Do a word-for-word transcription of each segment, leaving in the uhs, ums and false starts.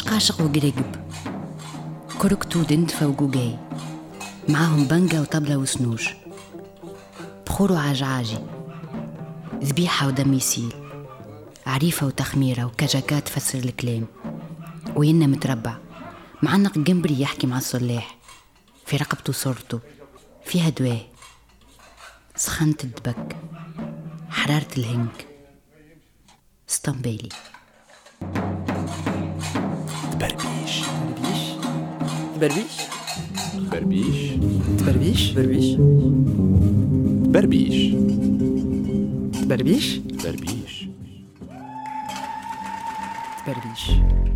قاشق وقرقب، كركتو دندفة وقوقاي، معاهم بنجة وطبلة وسنوج، بخور وعجعاجي، ذبيحة ودم يسيل، عريفة وتخميرة وكجكات تفسر الكلام، وينا متربع معنق جنبري يحكي مع الصلاح، في رقبته صورته فيها دواه، سخنة الدبك، حرارة الهنك، اسطنبالي. بربيش بربيش بربيش بربيش بربيش بربيش بربيش بربيش بربيش.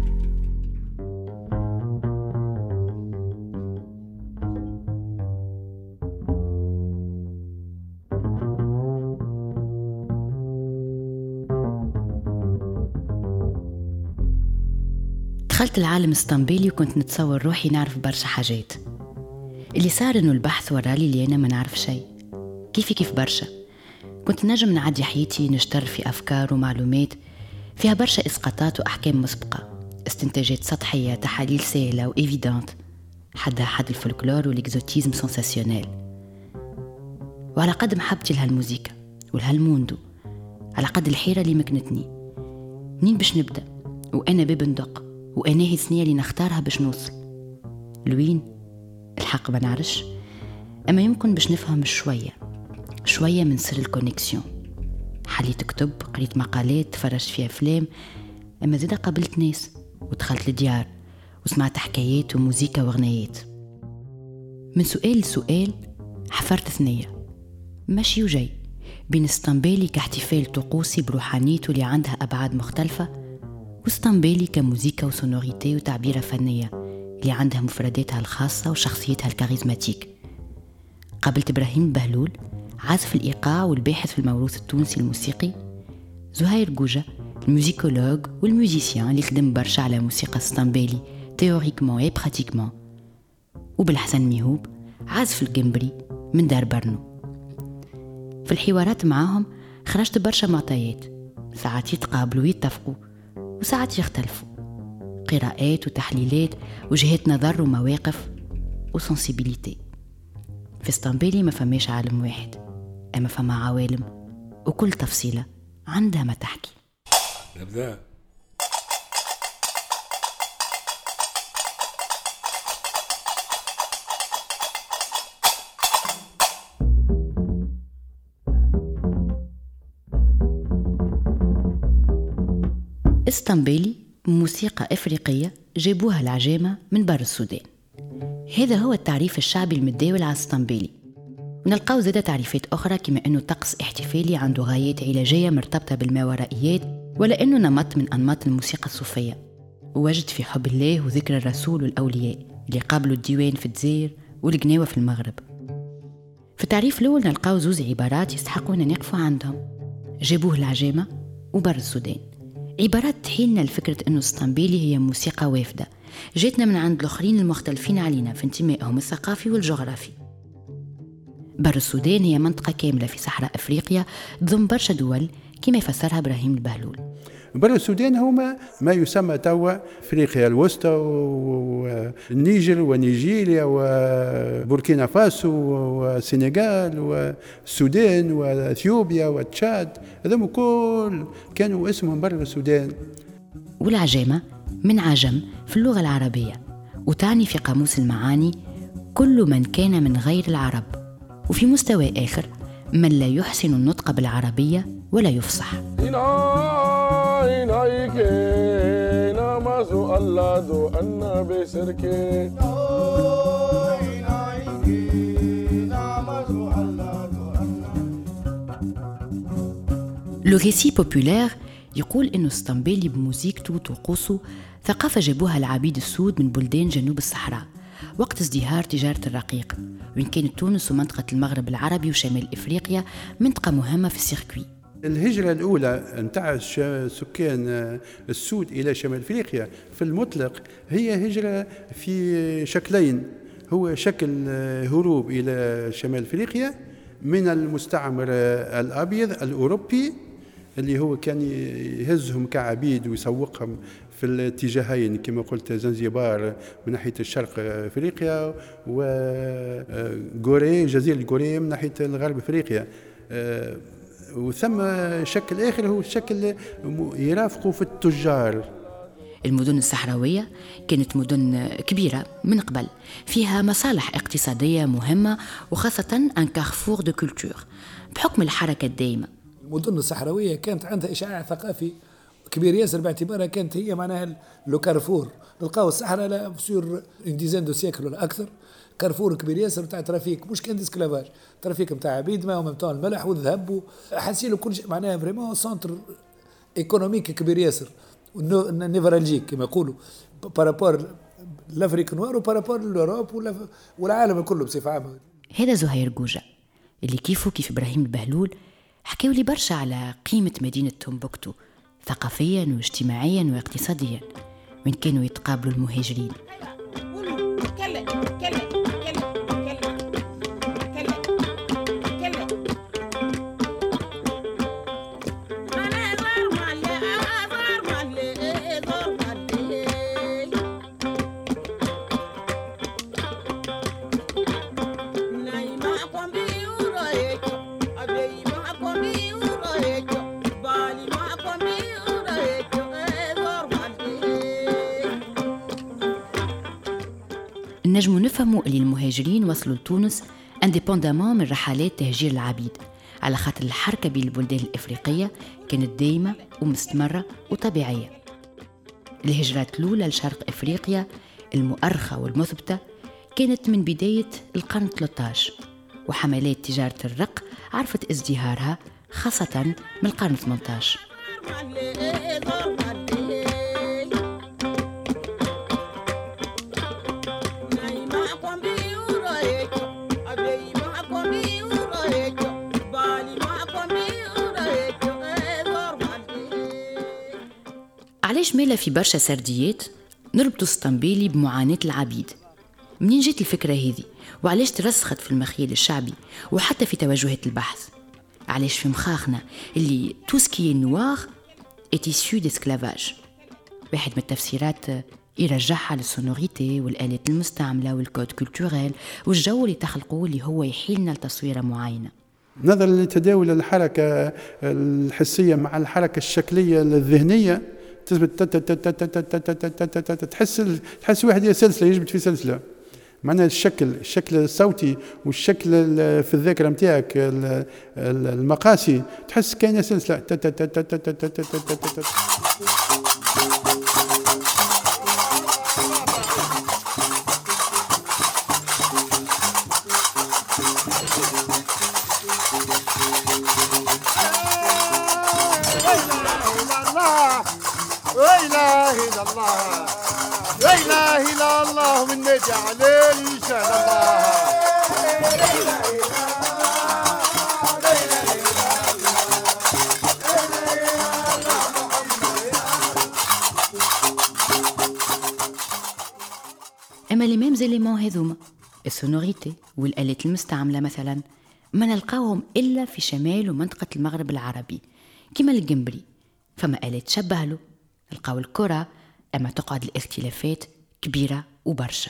دخلت العالم اسطنبولي وكنت نتصور روحي نعرف برشا حاجات. اللي صار انه البحث ورالي اللي انا ما نعرف شيء، كيفي كيف برشا. كنت نجم نعدي حياتي نشتر في افكار ومعلومات فيها برشا اسقاطات واحكام مسبقه، استنتاجات سطحيه، تحاليل سهله وايفيدانت، حدها حد الفولكلور والاكزوتيزم سنساسيونيل. وعلى قد محبتي لهالموسيقى ولهالموندو، على قد الحيره اللي مكنتني، منين باش نبدا وانا باب ندق، وانا هي السنيه اللي نختارها باش نوصل لوين؟ الحق ما نعرفش، اما يمكن باش نفهم شويه شويه من سر الكونيكسيون. حليت كتب، قريت مقالات، تفرجت في افلام، اما زيدا قابلت ناس ودخلت لديار وسمعت حكايات وموسيقى وغنايات. من سؤال لسؤال حفرت ثنيه ماشي وجاي بين اسطنبولي كاحتفال طقوسي بروحانيته اللي عندها ابعاد مختلفه، واسطنبولي كموسيقى وسونوريتي وتعبيرة فنية اللي عندها مفرداتها الخاصة وشخصيتها الكاريزماتيك. قابلت إبراهيم البهلول، عازف الإيقاع والباحث في الموروث التونسي الموسيقي، زهير جوجة الموسيكولوج والموزيسيان اللي خدم برشا على موسيقى اسطنبولي تيوريكمون اي براتيكمون، وبالحسن ميهوب عازف الجمبري من دار برنو. في الحوارات معاهم خرجت برشا معطيات، ساعات يتقابلوا ويتفقوا وساعات يختلفوا، قراءات وتحليلات وجهات نظر ومواقف وسنسيبيليتي. في اسطنبولي ما فماش عالم واحد، اما فما عوالم وكل تفصيلة عندها ما تحكي. نبدأ. اسطنبولي موسيقى إفريقية جابوها العجامة من بر السودان. هذا هو التعريف الشعبي المتداول على اسطنبولي. ونلقاو زادة تعريفات أخرى كما أنه طقس احتفالي عنده غايات علاجية مرتبطة بالماورائيات، ولا أنه نمط من أنماط الموسيقى الصوفية، ووجد في حب الله وذكر الرسول والأولياء اللي قابلوا الديوان في الجزائر والقناوة في المغرب. في التعريف الأول نلقاو زوز عبارات يستحقون أن نقفوا عندهم: جابوه العجامة وبر السودان. عبارات تحيلنا لفكرة أنه اسطنبولي هي موسيقى وافدة جاتنا من عند الآخرين المختلفين علينا في انتمائهم الثقافي والجغرافي. بر السودان هي منطقة كاملة في صحراء أفريقيا تضم برشا دول كما يفسرها إبراهيم البهلول. بر السودان هما ما يسمى توا أفريقيا الوسطى والنيجر ونيجيريا وبوركينا فاسو والسنغال والسودان وأثيوبيا وتشاد، هذم كل كانوا اسمهم بر السودان. والعجامة من عجم في اللغة العربية، وتعني في قاموس المعاني كل من كان من غير العرب، وفي مستوى آخر من لا يحسن النطق بالعربية ولا يفصح. لو ريسي بوبولير يقول إنه اسطنبولي بموسيقته وطقوسه ثقافة جابوها العبيد السود من بلدان جنوب الصحراء وقت ازدهار تجارة الرقيق، وإن كانت تونس ومنطقة المغرب العربي وشمال إفريقيا منطقة مهمة في السيركوي. الهجرة الأولى نتاع سكان السود إلى شمال أفريقيا في المطلق هي هجرة في شكلين: هو شكل هروب إلى شمال أفريقيا من المستعمر الأبيض الأوروبي اللي هو كان يهزهم كعبيد ويسوقهم في في الاتجاهين كما قلت زنزبار من ناحية الشرق أفريقيا وغوري جزيرة غوري من ناحية الغرب أفريقيا. وثم شكل آخر هو شكل يرافقه في التجار. المدن الصحراوية كانت مدن كبيرة من قبل، فيها مصالح اقتصادية مهمة وخاصة ان كارفور دو كولتور بحكم الحركة الدائمة. المدن الصحراوية كانت عندها إشعاع ثقافي كبير ياسر باعتبارها كانت هي معناها لو كارفور. نلقاو الصحراء لا سور اون ديزين دو سيكل ولا أكثر كارفور كبير ياسر نتاع ترافيك، مش كان ديسكلافاج، ترافيك نتاع عبيد ما ومتاع الملح والذهب حاسين كل شيء معناها فريمون سنتر ايكونوميك كبير ياسر نيفرالجيك كما يقولوا بارابور لافريك نوار وبارابور لوروب والعالم كله بصفة عامة. هذا زهير جوجة اللي كيفه كيف إبراهيم البهلول حكاو لي برشا على قيمة مدينة تومبوكتو ثقافيا واجتماعيا واقتصاديا وين كانوا يتقابلوا المهاجرين. نجموا نفهموا اللي المهاجرين وصلوا لتونس انديبوندامون من رحلات تهجير العبيد، على خاطر الحركة بين البلدان الإفريقية كانت دايمة ومستمرة وطبيعية. الهجرات الأولى لشرق إفريقيا المؤرخة والمثبتة كانت من بداية القرن ثلاثة عشر، وحملات تجارة الرق عرفت ازدهارها خاصة من القرن ثمانية عشر. علاش مالا في برشا سرديات نربطوا ستامبيلي بمعاناة العبيد؟ منين جت الفكرة هذه؟ وعلاش ترسخت في المخيل الشعبي وحتى في توجهات البحث؟ علاش في مخاخنا اللي توسكي نوار est issu d'esclavage؟ واحد من التفسيرات يرجعها للسونوريتي والآلات المستعملة والكود كولتوريل والجو اللي تخلقوه اللي هو يحيلنا لتصويرة معينة. نظرا لتداول الحركة الحسية مع الحركة الشكلية الذهنية تثبت تحس تحس واحد سلسلة يجبد في سلسلة. معناها الشكل الشكل الصوتي والشكل في الذاكرة متاعك المقاسي تحس كأنها سلسلة. لا إله إلا الله لا إله إلا الله من نجعل لسان الله. أما لي ميم زيليمون هذوما السونوريتي والآلات المستعملة مثلا ما نلقاوهم إلا في شمال ومنطقة المغرب العربي كما الجمبري، فما آلات تشبه له. نلقاو الكرة، أما تقعد الاختلافات كبيرة وبرشا.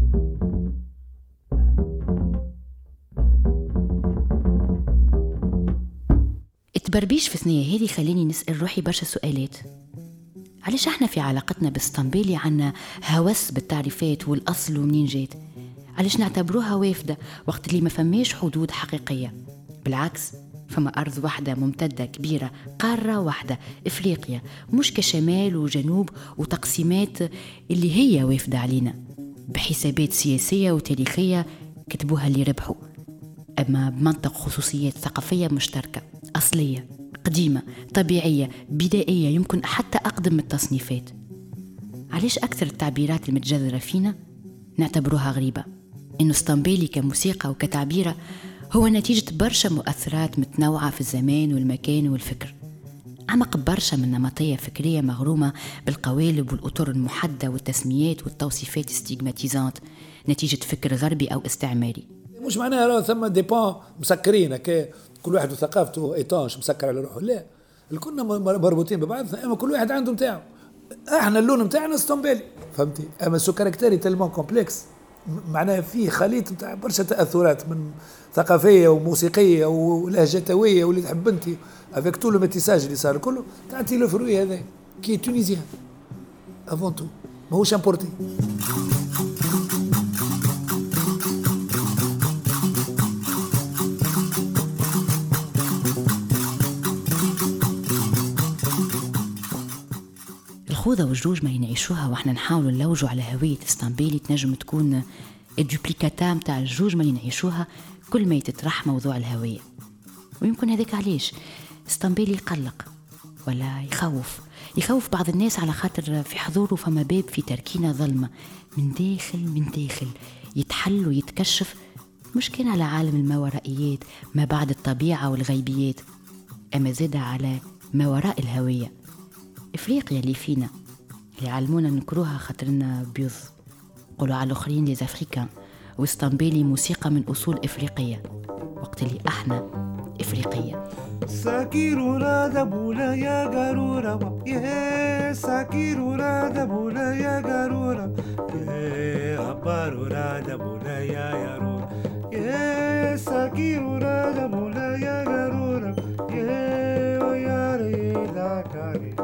التبربيش في الثنية هذه خليني نسأل روحي برشا سؤالات. علاش احنا في علاقتنا بالسطنبيلي عنا هوس بالتعريفات والأصل ومنين جات؟ علاش نعتبروها وافدة وقت اللي ما فماش حدود حقيقية؟ بالعكس، فما أرض واحدة ممتدة كبيرة، قارة واحدة إفريقيا، مش كشمال وجنوب وتقسيمات اللي هي وافدة علينا بحسابات سياسية وتاريخية كتبوها اللي ربحوا، أما بمنطق خصوصيات ثقافية مشتركة أصلية قديمة طبيعية بدائية يمكن حتى أقدم من التصنيفات. علاش أكثر التعبيرات المتجذرة فينا نعتبروها غريبة؟ إنه اسطنبولي كموسيقى وكتعبيرة هو نتيجة برشا مؤثرات متنوعة في الزمان والمكان والفكر، عمق برشا من نمطية فكرية مغرومة بالقوالب والأطر المحدة والتسميات والتوصيفات ستيغماتيزانت نتيجة فكر غربي أو استعماري. مش معناها راه ثم ديبان مسكرين كي كل واحد وثقافته ايطانش مسكر على روحه، لا، الكلنا مربوطين ببعض، اما كل واحد عنده متاعه. احنا اللون نتاعنا اسطنبولي فهمتي، اما سو كاركتيري تلمون كومبلكس معناها فيه خليط نتاع برشا تاثرات من ثقافيه وموسيقيه ولهجتويه واللي تحب انت افيك تو لو ميتيساج اللي صار كله تعطي له فروي هذا كي تونيزيان افون تو ماهوش امبورتي. الخوذة والجوجمة اللي نعيشوها واحنا نحاولوا نلوجوا على هوية اسطنبولي تنجم تكون الدوبليكاتا متاع الجوجمة اللي نعيشوها كل ما يتطرح موضوع الهوية. ويمكن هذاك علاش اسطنبولي يقلق ولا يخوف يخوف بعض الناس على خاطر في حضوره فما باب في تركينة ظلمة من داخل من داخل يتحل ويتكشف، مش كان على عالم الماورائيات ما بعد الطبيعة والغيبيات، أما زاد على ما وراء الهوية. إفريقيا اللي فينا اللي علمونا نكروها خاطرنا بيض، قولوا على الآخرين لي أفريكان، واسطنبولي موسيقى من أصول إفريقية وقت اللي احنا إفريقية. ساكيرورا دبولا يا قارورا يا ساكيرورا دبولا يا قارورا يا أبارورا دبولا يا يارورا يا ساكيرورا دبولا يا قارورا يا وياري داكاري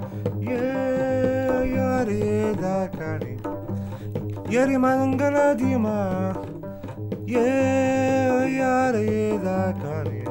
يا ياري داكاري ياري مانغلا ديما يا ياري داكاري.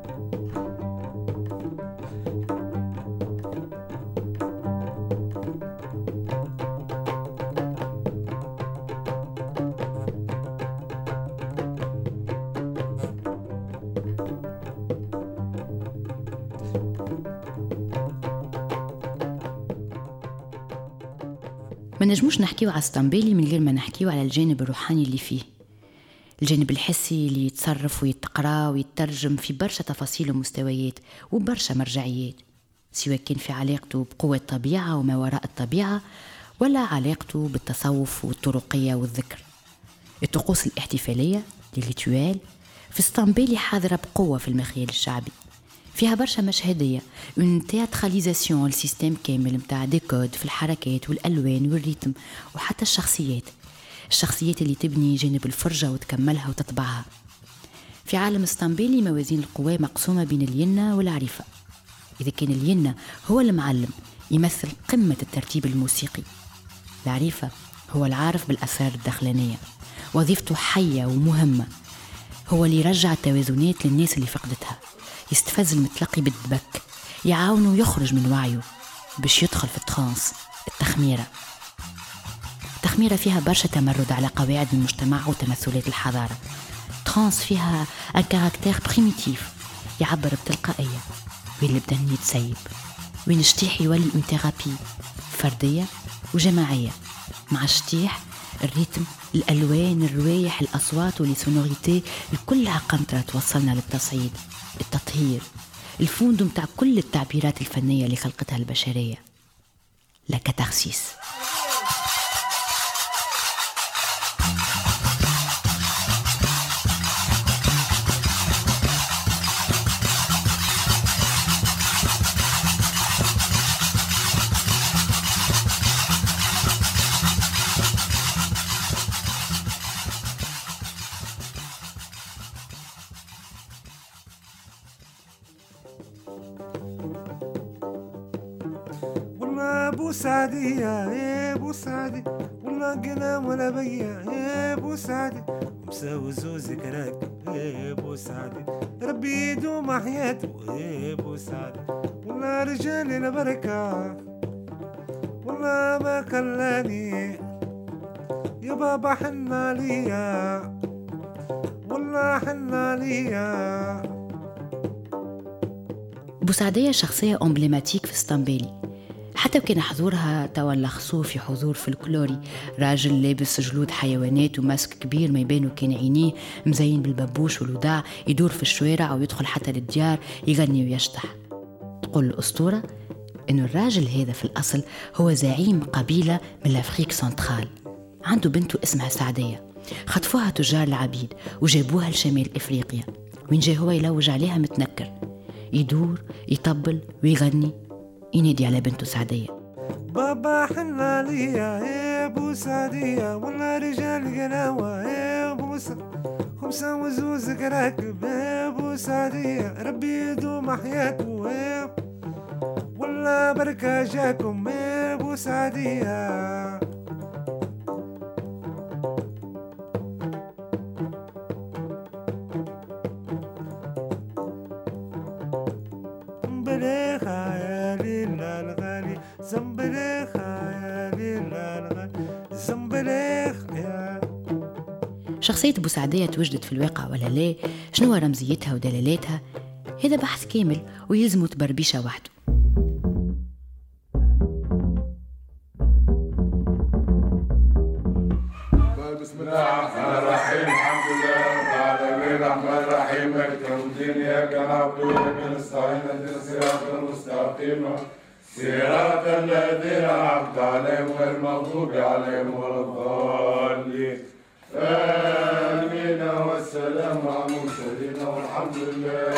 ما نجموش نحكيو على اسطنبولي من غير ما نحكيو على الجانب الروحاني اللي فيه، الجانب الحسي اللي يتصرف ويتقرا ويترجم في برشا تفاصيل ومستويات وبرشا مرجعيات، سواء كان في علاقته بقوة الطبيعة وما وراء الطبيعة ولا علاقته بالتصوف والطرقية والذكر. الطقوس الاحتفالية للريتوال في اسطنبولي حاضرة بقوة في المخيال الشعبي، فيها برشا مشهدية، اون تياتراليزاسيون السيستم كامل متاع ديكود في الحركات والألوان والريتم وحتى الشخصيات الشخصيات اللي تبني جانب الفرجة وتكملها وتطبعها. في عالم اسطنبولي موازين القوى مقسومة بين الينة والعريفة. إذا كان الينة هو المعلم يمثل قمة الترتيب الموسيقي، العريفة هو العارف بالأسرار الداخلانية، وظيفته حية ومهمة، هو اللي يرجع التوازنات للناس اللي فقدتها، يستفز المتلقي بالدبك، يعاونه يخرج من وعيه باش يدخل في الترانس التخميرة. التخميرة فيها برشا تمرد على قواعد المجتمع وتمثلات الحضارة. ترانس فيها ان كاركتير بريميتيف يعبر بتلقائية، وين البدن يتسيب، وين الشتيح يولي اون ثيرابي فردية وجماعية، مع الشتيح الريتم الألوان الروايح الأصوات والسونوريتي الكل عقنطرة توصلنا للتصعيد، التطهير، الفوندو متاع كل التعبيرات الفنية اللي خلقتها البشرية، لا كاتارسيس. بوسعدي يا بوسعدي والله قلام ولا بيا يا بوسعدي مساوي زوزك راك يا بوسعدي ربي يدوم حياته يا بوسعدي والله رجالي البركة والله ما خلاني يا بابا حنا ليا والله حنا ليا. بوسعدية شخصية أمبليماتيك في اسطنبولي، حتى وكان حضورها توا لخصوه في حضور فلكلوري، راجل لابس جلود حيوانات وماسك كبير ما يبانو كان عينيه مزين بالبابوش والوداع، يدور في الشوارع ويدخل حتى للديار يغني ويشطح. تقول الأسطورة إنه الراجل هذا في الأصل هو زعيم قبيلة من الأفريق سنترال، عنده بنته اسمها سعدية، خطفوها تجار العبيد وجابوها لشمال إفريقيا، وين جاي هو يلوج عليها متنكر، يدور يطبل ويغني، ينادي على بنته سعدية. بابا حنا ليا يا ابو سعدية والله رجال قلاوة يا ابو سعدية خمسة وزوزك راكب يا ابو سعدية ربي يدوم حياته يا والله بركة جاكم يا ابو سعدية. زنبليخة يا ليلى الغالي زنبليخة يا ليلى الغالي زنبليخة يا. شخصية بوسعدية توجدت في الواقع ولا لا؟ شنو رمزيتها ودلالاتها؟ هذا بحث كامل ويلزمه تبربيشة وحده. بسم الله الرحمن الرحيم الحمد لله رب العالمين الرحمن الرحيم مالك يوم الدين إياك نعبد وإياك نستعين اهدنا الصراط المستقيم صراط الذين أنعمت عليهم غير المغضوب عليهم ولا الضالين آمين والسلام على المرسلين والحمد لله.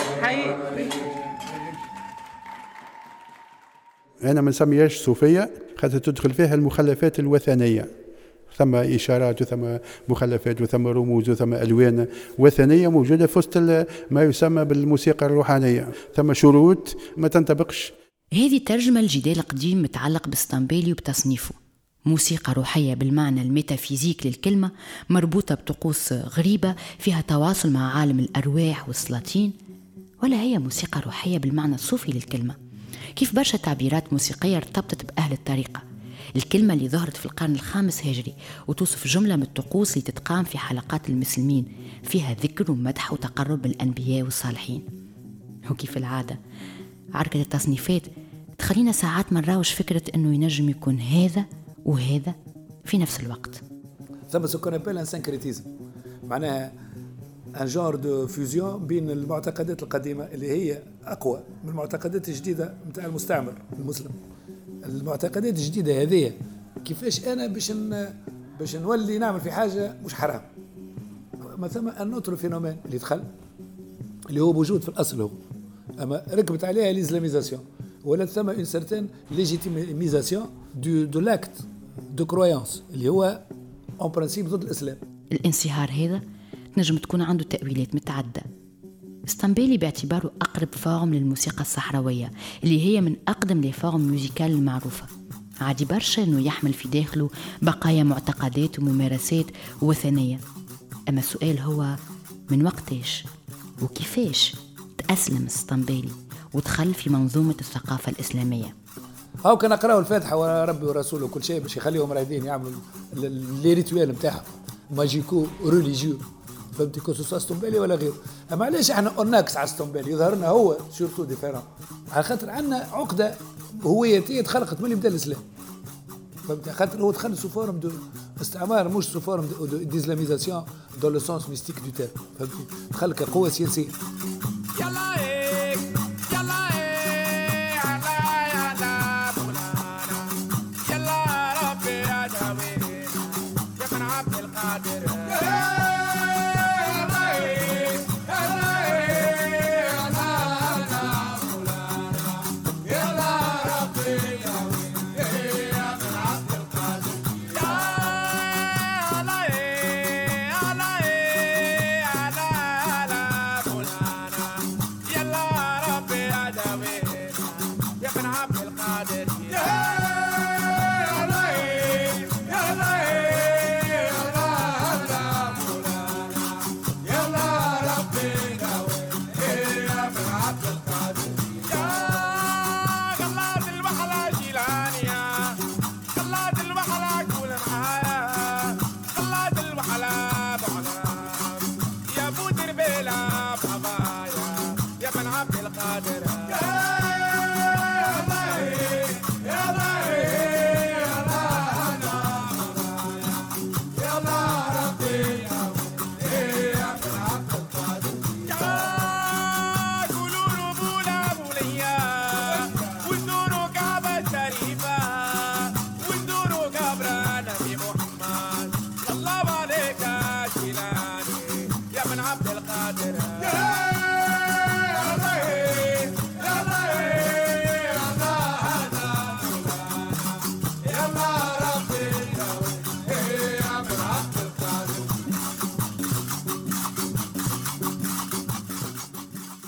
أنا ما نسميهاش صوفية خاطر تدخل فيها المخلفات الوثنية، ثم إشارات وثم مخلفات وثم رموز وثم ألوان وثنية موجودة في وسط ما يسمى بالموسيقى الروحانية، ثم شروط ما تنطبقش. هذه ترجمة الجدال القديم متعلق بالستامبيلي وبتصنيفه، موسيقى روحية بالمعنى الميتافيزيك للكلمة مربوطة بطقوس غريبة فيها تواصل مع عالم الأرواح والسلاطين، ولا هي موسيقى روحية بالمعنى الصوفي للكلمة؟ كيف برشا تعبيرات موسيقية ارتبطت بأهل الطريقة. الكلمة اللي ظهرت في القرن الخامس هجري وتوصف جملة من الطقوس اللي تتقام في حلقات المسلمين فيها ذكر ومدح وتقرب بالأنبياء والصالحين. وكيف العادة عركة التصنيفات تخلينا ساعات ما نراوش فكرة أنه ينجم يكون هذا وهذا في نفس الوقت. ثم سكون أبل أن سانكريتيزم، معناها ان جور دو فيوزيون بين المعتقدات القديمة اللي هي أقوى من المعتقدات الجديدة متاع المستعمر المسلم. المعتقدات الجديدة هذه كيفاش أنا باش باش نولي نعمل في حاجة مش حرام. ما ثم النوتر فينومين اللي دخل اللي هو موجود في الأصل هو، أما ركبت عليها الإسلاميزاسيون ولا ثم une certaine légitimisation du de l'acte de croyance اللي هو en principe ضد الإسلام. الانصهار هذا تنجم تكون عنده تأويلات متعددة. ستامبيلي باعتباره أقرب فورم للموسيقى الصحراوية اللي هي من أقدم لي فورم ميوزيكال المعروفة، عادي برشا أنه يحمل في داخله بقايا معتقدات وممارسات وثنية. أما السؤال هو من وقتاش وكيفاش تأسلم ستامبيلي ودخل في منظومة الثقافة الإسلامية؟ هاو كان أقرأوا الفاتحة وربي ورسوله وكل شيء باش يخليهم رايدين يعملوا لي ريتوال نتاعهم ماجيكو ريليجيو، فهمتي كو سوسا ستامبيلي ولا غيره. اما علاش احنا اوناكس على ستامبيلي يظهر لنا هو سورتو ديفيرون على خاطر عندنا عقده هويتيه تخلقت من يبدا الاسلام، فهمتي خاطر هو دخل سو فورم دو استعمار مش سو فورم دو ديزلاميزاسيون دو لو سونس ميستيك دو تير، فهمتي دخل كقوه سياسيه. يلا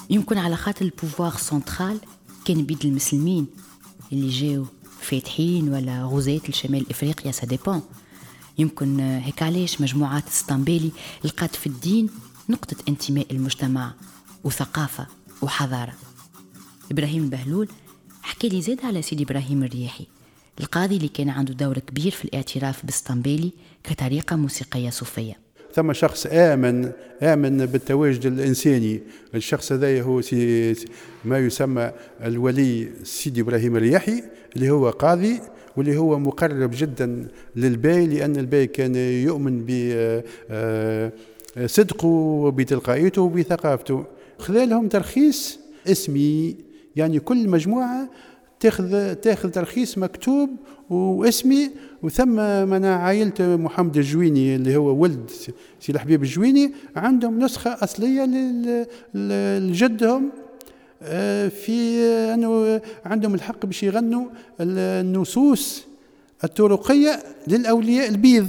يمكن على خاطر البوفوار سنترال كان بيد المسلمين اللي جاو فاتحين ولا غزاة لشمال إفريقيا، سا ديبون. يمكن هيك علاش مجموعات ستامبيلي لقات في الدين نقطة انتماء المجتمع وثقافة وحضارة. إبراهيم البهلول حكى لي زاد على سيدي إبراهيم الرياحي، القاضي اللي كان عنده دور كبير في الاعتراف بالستامبيلي كطريقة موسيقية صوفية. ثم شخص آمن آمن بالتواجد الإنساني. الشخص هذا هو ما يسمى الولي سيدي إبراهيم الرياحي، اللي هو قاضي واللي هو مقرب جدا للباي، لأن الباي كان يؤمن بصدقه وبتلقائيته وبثقافته. خلالهم ترخيص اسمي، يعني كل مجموعة تاخذ تاخذ ترخيص مكتوب واسمي، وثم من عائلة محمد الجويني اللي هو ولد سي الحبيب الجويني عندهم نسخة أصلية لجدهم في أنه عندهم الحق باش يغنوا النصوص الطرقية للأولياء البيض.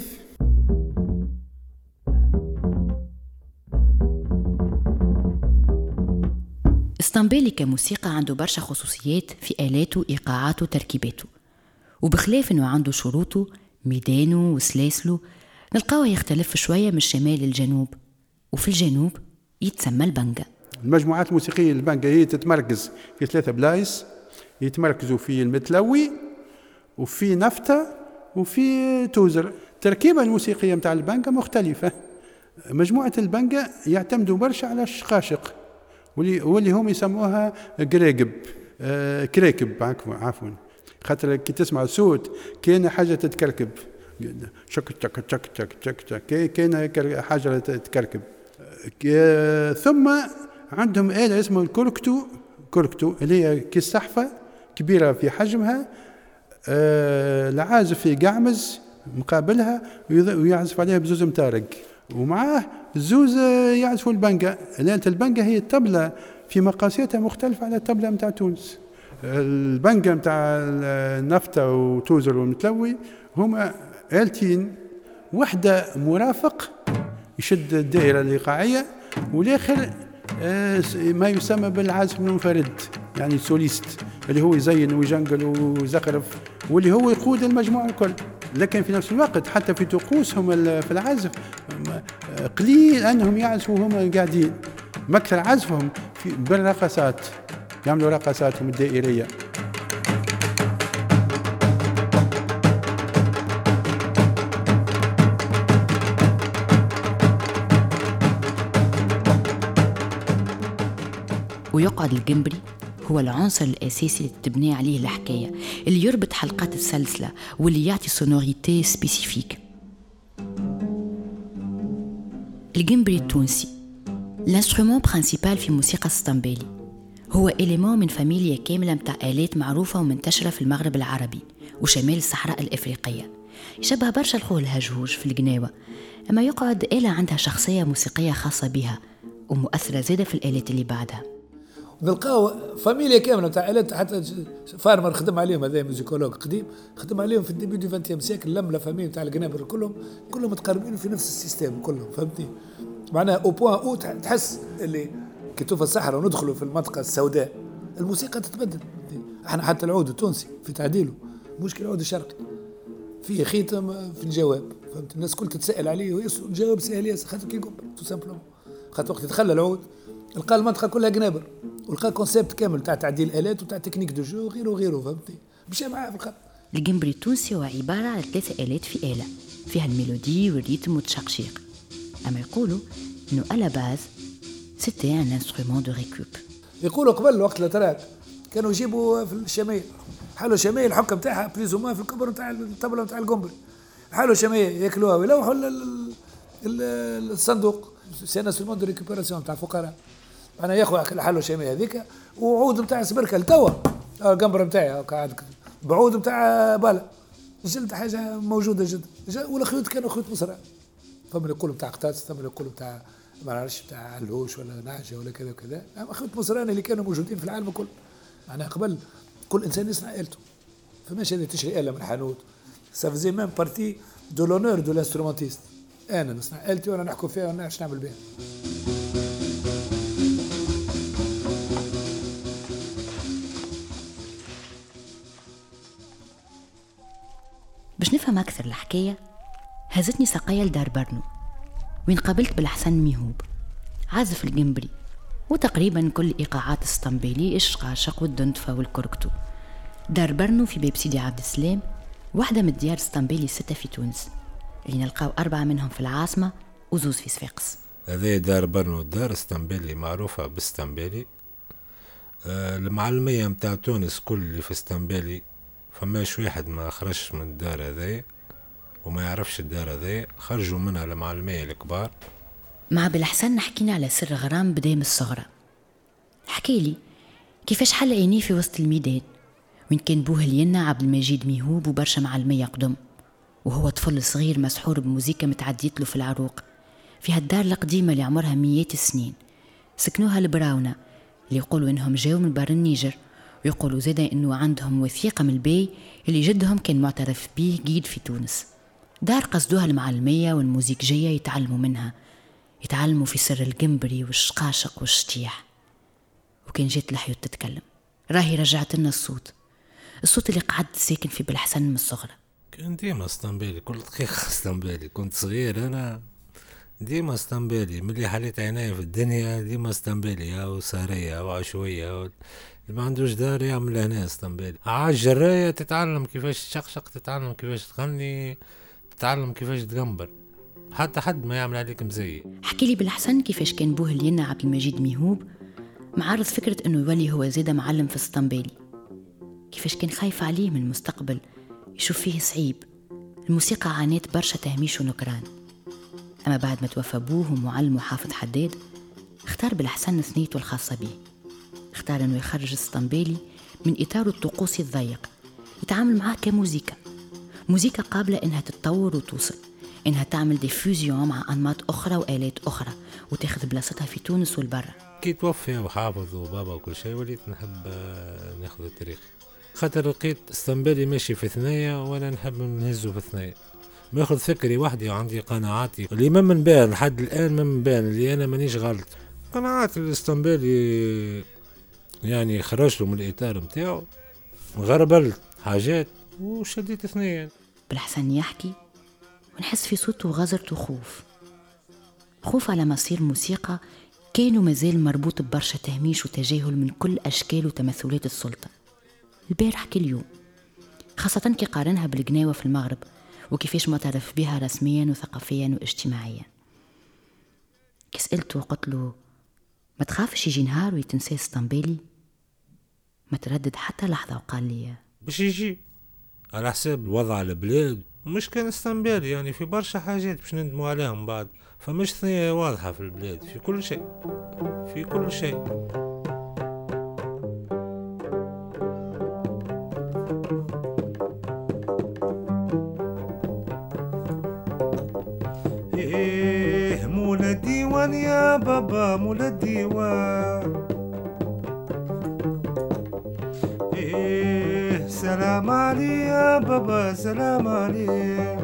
اسطنبولي كموسيقى عنده برشا خصوصيات في آلاته إيقاعاته وتركيباته، وبخلاف أنه عنده شروطه ميدانه وسلاسله نلقاوه يختلف شوية من الشمال للجنوب، وفي الجنوب يتسمى البنجا. المجموعات الموسيقية البنجا هي تتمركز في ثلاثة بلايص، يتمركزوا في المتلوي وفي نفطة وفي توزر. التركيبة الموسيقية متاع البنجا مختلفة. مجموعة البنجا يعتمدوا برشا على الشقاشق واللي واللي هم يسموها قراقب آه كراكب عفوا، خاطر كي تسمع صوت كاين حاجة تتكركب، شك تك تك تك تك تك كاين حاجة تتكركب. آه ثم عندهم آلة اسمها الكوركتو، كوركتو اللي هي كالسحفة كبيرة في حجمها، آه العازف يقعمز مقابلها ويعزف عليها بزوز متارق، ومعاه الزوز يعزفوا البنجا. لأن البنجا هي الطبلة في مقاساتها مختلفة على الطبلة متاع تونس. البنجا متاع النفطة وتوزر والمتلوي هما آلتين، واحدة مرافق يشد الدائرة الإيقاعية، والآخر ما يسمى بالعازف المنفرد يعني سوليست، اللي هو يزين ويجنقل ويزخرف واللي هو يقود المجموعة الكل. لكن في نفس الوقت حتى في طقوسهم في العزف قليل أنهم يعزفوا هم قاعدين، مكثر عزفهم بالرقصات، يعملوا رقصاتهم الدائرية. ويقعد الجمبري هو العنصر الأساسي اللي تبني عليه الحكاية، اللي يربط حلقات السلسلة واللي يعطي سونوريتي سبيسيفيك. الجمبري التونسي الانسترومون برانسيبال في موسيقى السطنبالي، هو إليمون من فاميليا كاملة متاع آلات معروفة ومنتشرة في المغرب العربي وشمال الصحراء الإفريقية. يشبه برشا الخول الهجهوج في القناوة، أما يقعد آلة عندها شخصية موسيقية خاصة بها ومؤثرة زادة في الآلات اللي بعدها. نلقاو فاميليا كامله تاع آلات، حتى فارمر خدم عليهم، هذا موزيكولوج قديم خدم عليهم في الديبي دو فانتيام سيكل، لم لا فاميليا تاع القنابر كلهم كلهم متقاربين في نفس السيستم كلهم، فهمتني؟ معناها او بوان او تحس اللي كي توفى الصحراء وندخلوا في المنطقه السوداء الموسيقى تتبدل. احنا حتى العود التونسي في تعديله مشكل العود الشرقي فيه خيتم في الجواب، فهمت؟ الناس كل تتسائل عليه والجواب سهل ياسر، خاطر كي يقبل تو سامبلومون، خاطر وقت يتخلى العود لقى المنطقه كلها قنابر، ولقى كونسيبت كامل تاع تعديل الالات وتاع تكنيك دو جو وغيره وغيره، فهمتني؟ مشى معاه في الخط. الجمبري التونسي هو عباره على ثلاثه الات في اله فيها الميلودي والريتم والتشقشيق، اما يقولوا انه على باز سيتي ان انسترومون دو ريكوب. يقولوا قبل وقت الاتراك كانوا يجيبوا في الشمال حالوا شمال الحكم تاعها بليزوما في الكبر نتاع الطبله نتاع الجمبري، حالوا شمال ياكلوها ويلوحوا الصندوق سي ان انسترومون دو ريكوبيراسيون تاع الفقراء. انا ياخذ حلو شامي هذيك وعود نتاع سبركه لتوا القمبره نتاعي قاعد بعود نتاع بالا جلد حاجه موجوده جدا، والخيوط كانوا خيوط مصرع، فما اللي يقولوا نتاع قطاس، فما اللي يقولوا نتاع ما نعرفش نتاع علوش ولا نعجه ولا كذا وكذا، اما خيوط مصراني اللي كانوا موجودين في العالم الكل. معناها قبل كل انسان يصنع آلته، فماش هذه تشري آلة من الحانوت، سافزي ميم بارتي دو لونور دو لانسترومونتيست، انا نصنع آلتي وانا نحكم فيها وانا نعرفش نعمل بها. باش نفهم أكثر الحكاية هزتني سقايا لدار برنو، وين قابلت بالحسن ميهوب عازف الجمبري وتقريبا كل إيقاعات السطنبيلي، الشقاشق والدندفة والكركتو. دار برنو في باب سيدي عبد السلام، واحدة من الديار السطنبيلي الستة في تونس، اللي نلقاو أربعة منهم في العاصمة وزوز في صفاقس. هذه دار برنو، دار السطنبيلي معروفة بالسطنبيلي. آه المعلمية متاع تونس كل اللي في السطنبيلي فماش واحد ما خرجش من الدار هذه وما يعرفش الدار هذه، خرجوا منها المعلمية الكبار. مع بالحسن نحكينا على سر غرام بداية من الصغرى. حكي لي كيفاش حل عينيه في وسط الميدان وين كان بوه لينا عبد المجيد ميهوب وبرشا معلمية قدم، وهو طفل صغير مسحور بموزيكا متعديت له في العروق في هالدار القديمة اللي عمرها مئات السنين. سكنوها البراونة اللي يقولوا إنهم جاوا من بر النيجر، ويقولوا زادا إنه عندهم وثيقة من البي اللي جدهم كان معترف بيه قيد في تونس. دار قصدوها المعلمية والموزيكجية يتعلموا منها، يتعلموا في سر الجمبري والشقاشق والشتيح. وكان جيت الحيوت تتكلم راهي رجعت لنا الصوت الصوت اللي قعدت ساكن في بالحسن من الصغرى. كان ديما اسطنبولي، كل دقيقة اسطنبولي. كنت صغير أنا ديما اسطنبولي، ملي حليت عيني في الدنيا ديما اسطنبولي، أو سارية أو عشوية، أو اللي ما عندوش دار يعمل هنا اسطنبولي. عاد جراية تتعلم كيفاش تشقشق، تتعلم كيفاش تغني، تتعلم كيفاش تقنبر، حتى حد ما يعمل عليك مزي. حكي لي بالحسن كيفاش كان بوه لينا عبد المجيد ميهوب معارض فكرة انه يولي هو زيادة معلم في السطنبيلي، كيفاش كان خايف عليه من المستقبل، يشوف فيه صعيب. الموسيقى عانيت برشا تهميش ونكران، اما بعد ما توفى بوه ومعلم حافظ حداد اختار بالحسن ثنيته الخاصة به، اختار انه يخرج السطنبيلي من اطاره الطقوسي الضيق، يتعامل معاه كموزيكا، موزيكا قابلة انها تتطور وتوصل، انها تعمل ديفوزيون مع انماط اخرى والات اخرى وتاخذ بلاصتها في تونس والبرة. كي توفي وحافظ وبابا وكل شيء وليت نحب ناخذ التاريخ، خاطر لقيت اسطنبولي ماشي في ثنية وانا نحب نهزه في ثنية، ماخذ فكري وحدي وعندي قناعاتي اللي ما من بين لحد الان، ما من بين اللي انا مانيش غلط. قناعات الاسطنبولي يعني خرجت له من الاطار متاعو، غربلت حاجات وشديت ثنية. بالحسن يحكي ونحس في صوته غزرة وخوف، خوف على مصير موسيقى كانوا مازال مربوط ببرشا تهميش وتجاهل من كل أشكال وتمثلات السلطة البارح كاليوم، خاصة كي قارنها بالقناوة في المغرب وكيفاش معترف بها رسميا وثقافيا واجتماعيا. كي سألته وقلت له ما تخافش يجي نهار ويتنسى اسطنبولي؟ ما تردد حتى لحظة وقال لي باش يجي على حساب الوضع البلاد، مش كان اسطنبولي يعني في برشا حاجات باش ندموا عليهم بعد، فمش ثنية واضحة في البلاد في كل شيء، في كل شيء. ايه مولا الديوان يا بابا مولا الديوان، ايه سلام علي يا بابا سلام علي،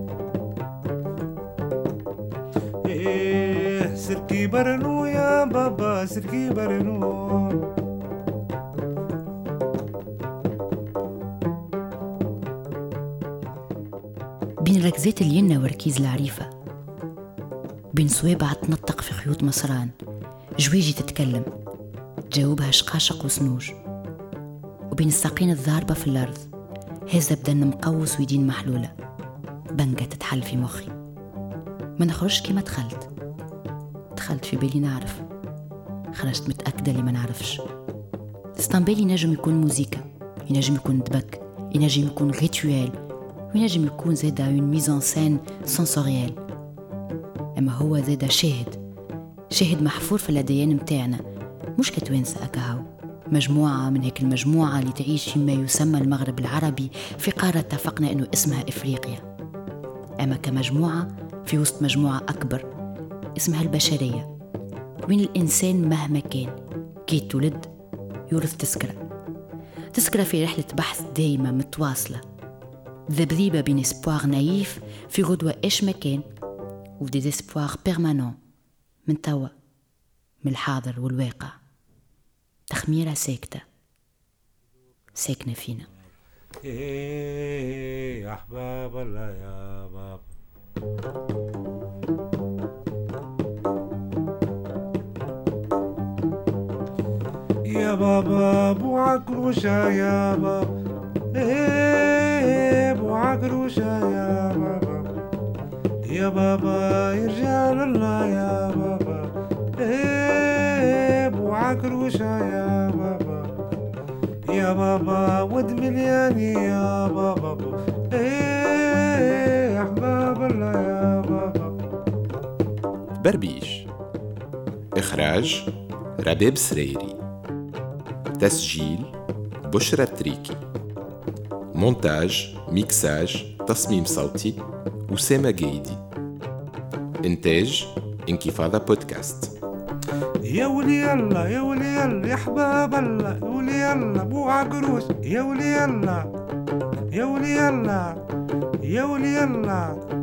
ايه سركي برنو يا بابا سركي برنو. بين ركزات الينا وركيز العريفة، بين صوابع تنطق في خيوط مصران، جويجي تتكلم تجاوبها شقاشق وسنوج، وبين الساقين الضاربة في الأرض هزة بدن مقوس ويدين محلولة، بنقة تتحل في مخي. ما نخرجش كما دخلت، دخلت في بالي نعرف، خرجت متأكدة اللي ما نعرفش. اسطنبولي ينجم يكون موزيكا، ينجم يكون دبك، ينجم يكون ريتوال، وينجم يكون زادا اون ميزان سين سنسوريال، اما هو زادا شاهد، شاهد محفور في الأديان متاعنا، مش كتوانسة أكاهو، مجموعة من هيك المجموعة اللي تعيش فيما يسمى المغرب العربي في قارة اتفقنا انه اسمها افريقيا، اما كمجموعة في وسط مجموعة اكبر اسمها البشرية، وين الانسان مهما كان كي تولد يورث تذكرة، تذكرة في رحلة بحث دايمة متواصلة، ذبذيبة بين اسبوار نايف في غدوة ايش مكان ودي اسبوار بيرمانون من توا، من الحاضر والواقع، تخميرة ساكتة ساكنة فينا. إيه يا أحباب الله يا بابا. يا بابا ابو عكروشة يا بابا، ايه ابو عكروشة يا بابا، يا بابا يرجع لله يا بابا، ايه ابو عكروشة يا بابا، يا بابا ود ملياني يا بابا، ايه احباب الله يا بابا. بربيش. إخراج ربيب سريري. تسجيل بشرى التريكي. مونتاج ميكساج تصميم صوتي أسامة جيدي. إنتاج انكفاضة بودكاست. يا ولي الله يا ولي الله يا حباب الله، يا ولي الله ابو عقروش، يا ولي الله يا ولي الله يا ولي الله.